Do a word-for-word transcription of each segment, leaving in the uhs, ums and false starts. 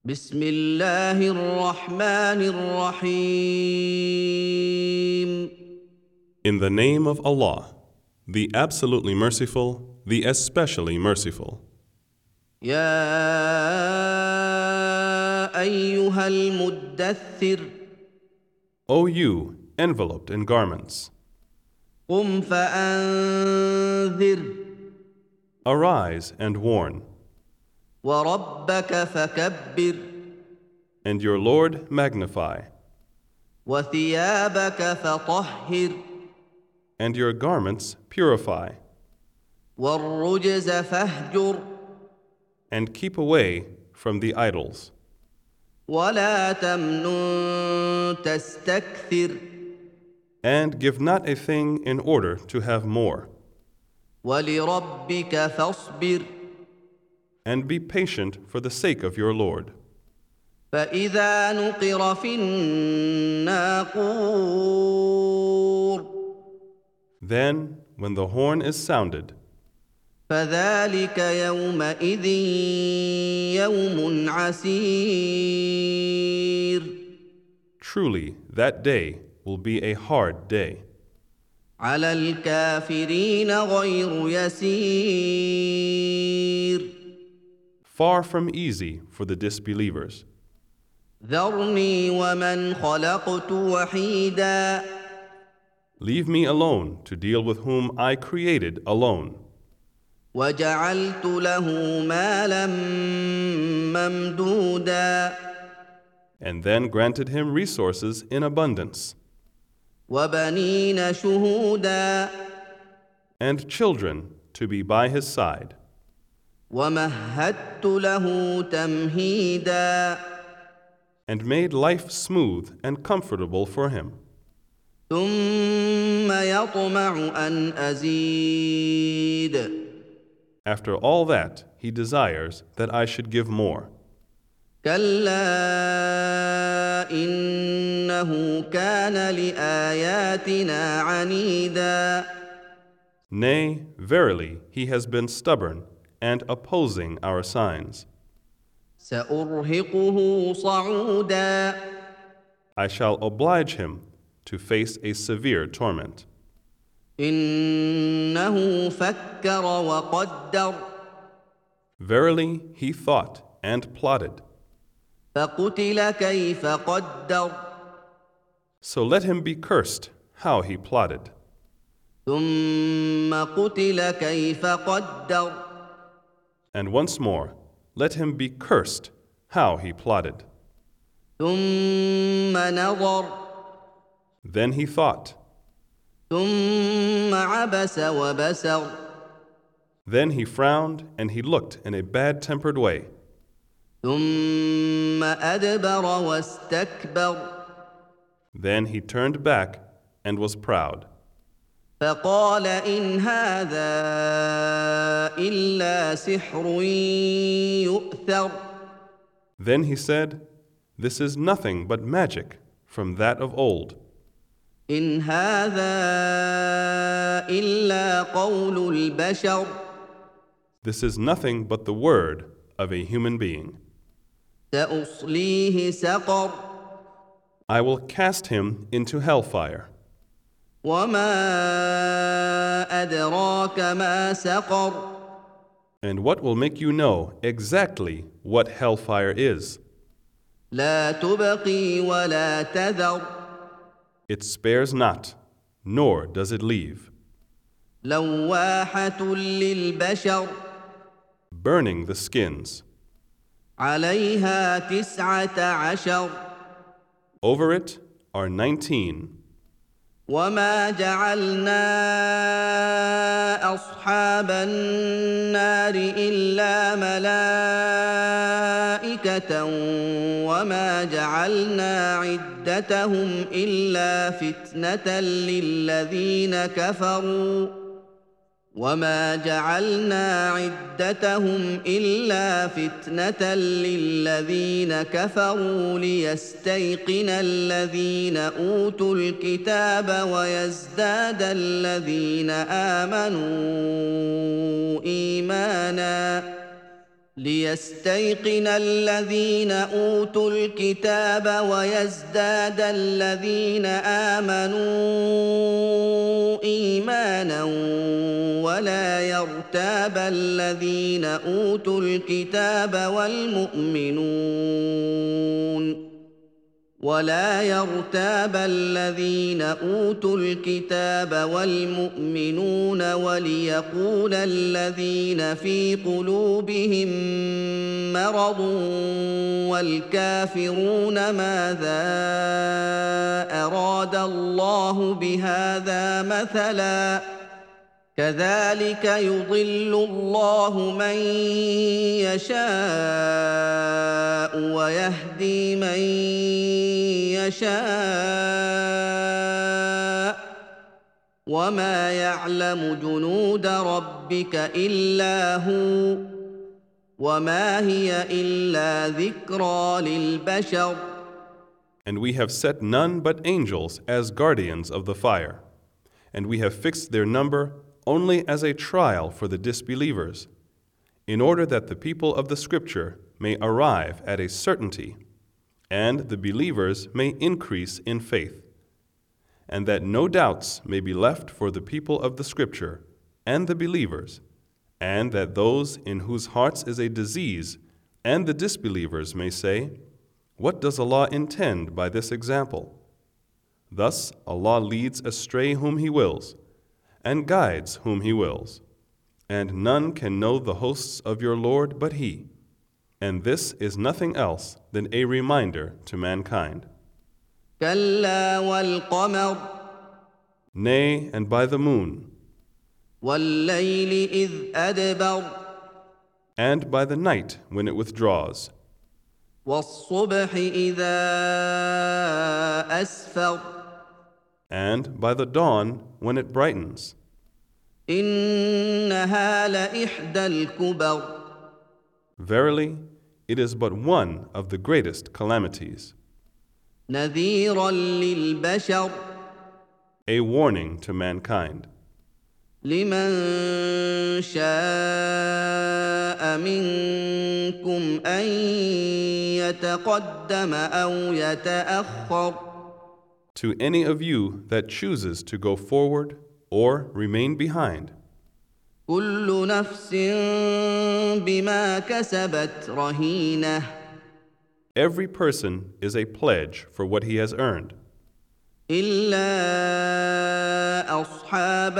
بسم الله الرحمن الرحيم. In the name of Allah, the absolutely merciful, the especially merciful. يا أيها المدثر O you, enveloped in garments, قم فأنذر arise and warn, وربك فكبر and your Lord magnify, وثيابك فطهر and your garments purify, والرجز فاهجر and keep away from the idols. ولا تمنن تستكثر And give not a thing in order to have more, ولربك فاصبر and be patient for the sake of your Lord. فإذا نقر في الناقور Then, when the horn is sounded, فذلك يومئذ يوم عسير truly that day will be a hard day. على الكافرين غير يسير Far from easy for the disbelievers. ذرني ومن خلقت وحيدا Leave me alone to deal with whom I created alone, وجعلت له مالا ممدودا and then granted him resources in abundance, وبنين شهودا and children to be by his side, ومهدت له تمهيدا and made life smooth and comfortable for him. ثم يطمع أن أزيد After all that, he desires that I should give more. كلا إنه كان لآياتنا عنيدا Nay, verily, he has been stubborn and opposing our signs. سأرهقه صعودا I shall oblige him to face a severe torment. إنه فكر وقدر Verily, he thought and plotted. فقتل كيف قدر So let him be cursed how he plotted. ثم قتل كيف قدر And once more, let him be cursed how he plotted. ثم نظر Then he thought. ثم عبس وبسر Then he frowned and he looked in a bad-tempered way. ثم أدبر واستكبر Then he turned back and was proud. فقال إن هذا إلا سحر يؤثر Then he said, This is nothing but magic from that of old. إن هذا إلا قول البشر This is nothing but the word of a human being. سأصليه سقر I will cast him into hellfire. وما أدراك ما سقر And what will make you know exactly what hellfire is? لا تبقي ولا تذر It spares not, nor does it leave. لواحة للبشر Burning the skins. عليها تسعة عشر Over it are nineteen. وما جعلنا أصحاب النار إلا ملائكة وما جعلنا عدتهم إلا فتنة للذين كفروا وما جعلنا عدتهم إلا فتنة للذين كفروا ليستيقن الذين أوتوا الكتاب ويزداد الذين آمنوا إيمانا ليستيقن الذين أوتوا الكتاب ويزداد الذين آمنوا إيمانا ولا يرتاب الذين أوتوا الكتاب والمؤمنون ولا يرتاب الذين أوتوا الكتاب والمؤمنون وليقول الذين في قلوبهم مرض والكافرون ماذا أراد الله بهذا مثلا كذلك يضل الله من يشاء ويهدي من يشاء وما يعلم جنود ربك إلا هو وما هي إلا ذكرى للبشر. And we have set none but angels as guardians of the fire, and we have fixed their number only as a trial for the disbelievers, in order that the people of the Scripture may arrive at a certainty, and the believers may increase in faith, and that no doubts may be left for the people of the Scripture and the believers, and that those in whose hearts is a disease and the disbelievers may say, "What does Allah intend by this example?" Thus Allah leads astray whom He wills, and guides whom He wills, and none can know the hosts of your Lord but He, and this is nothing else than a reminder to mankind. كلا والقمر Nay, and by the moon, والليل إذ أدبر and by the night when it withdraws, والصبح إذا أسفر and by the dawn when it brightens. إنها لإحدى الكبر Verily, it is but one of the greatest calamities, نذيرا للبشر a warning to mankind. لمن شاء منكم أن يتقدم أو يتأخر To any of you that chooses to go forward or remain behind, كل نفس بما كسبت رهينة every person is a pledge for what he has earned, إلا أصحاب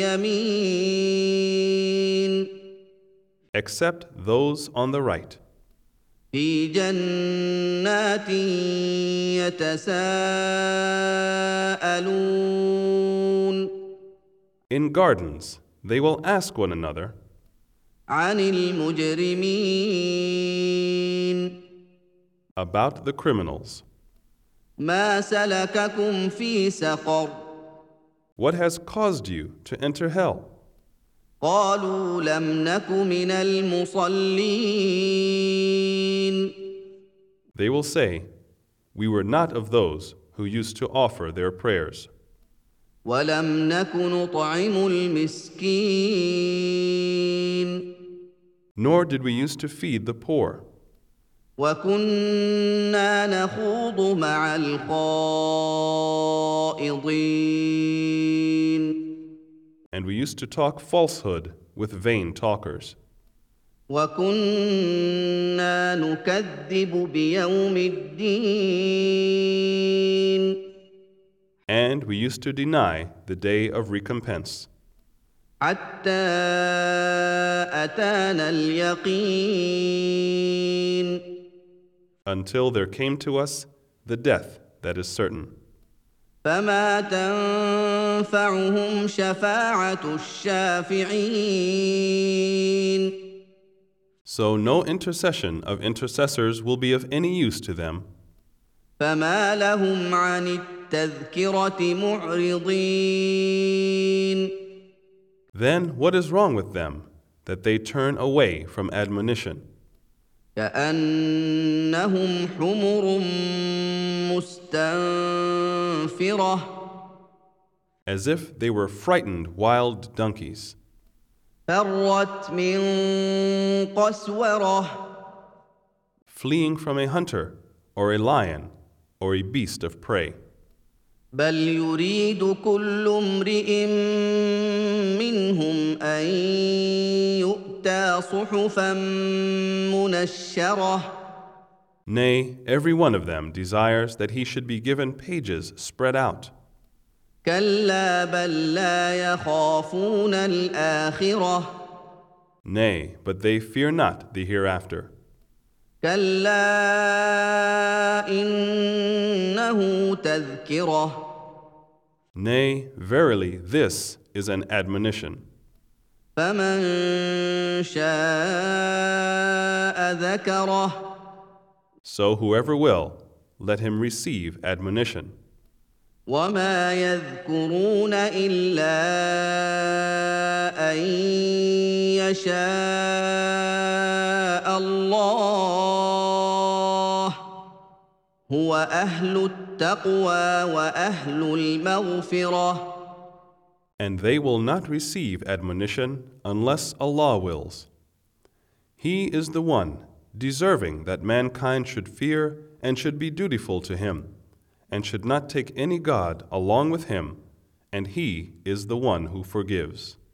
اليمين except those on the right, في جنات يتساءلون in gardens they will ask one another عن المجرمين about the criminals. ما سلككم في سقر What has caused you to enter hell? قالوا لم نك من المصلين They will say, "We were not of those who used to offer their prayers, ولم نك نطعم المسكين nor did we used to feed the poor, وكنا نخوض مع الخائضين and we used to talk falsehood with vain talkers, وكنا نكذب بيوم الدين and we used to deny the day of recompense, حتى أتانا اليقين until there came to us the death that is certain. فما تنفعهم شفاعة الشافعين So no intercession of intercessors will be of any use to them. فما لهم عن التذكرة معرضين Then what is wrong with them that they turn away from admonition? كأنهم حمر مستنفرة As if they were frightened wild donkeys. فرت من قسوره fleeing from a hunter or a lion or a beast of prey. بل يريد كل امرئ منهم ان يؤتى صحفا منشره Nay, every one of them desires that he should be given pages spread out. كلا بل لا يخافون الاخره Nay, but they fear not the hereafter. كلا انه تذكره Nay, verily, this is an admonition. فمن شاء ذكره So whoever will, let him receive admonition. وما يذكرون الا ان يشاء الله هو اهل التقوى واهل المغفره And they will not receive admonition unless Allah wills. He is the one deserving that mankind should fear and should be dutiful to him, and should not take any god along with him, and he is the one who forgives.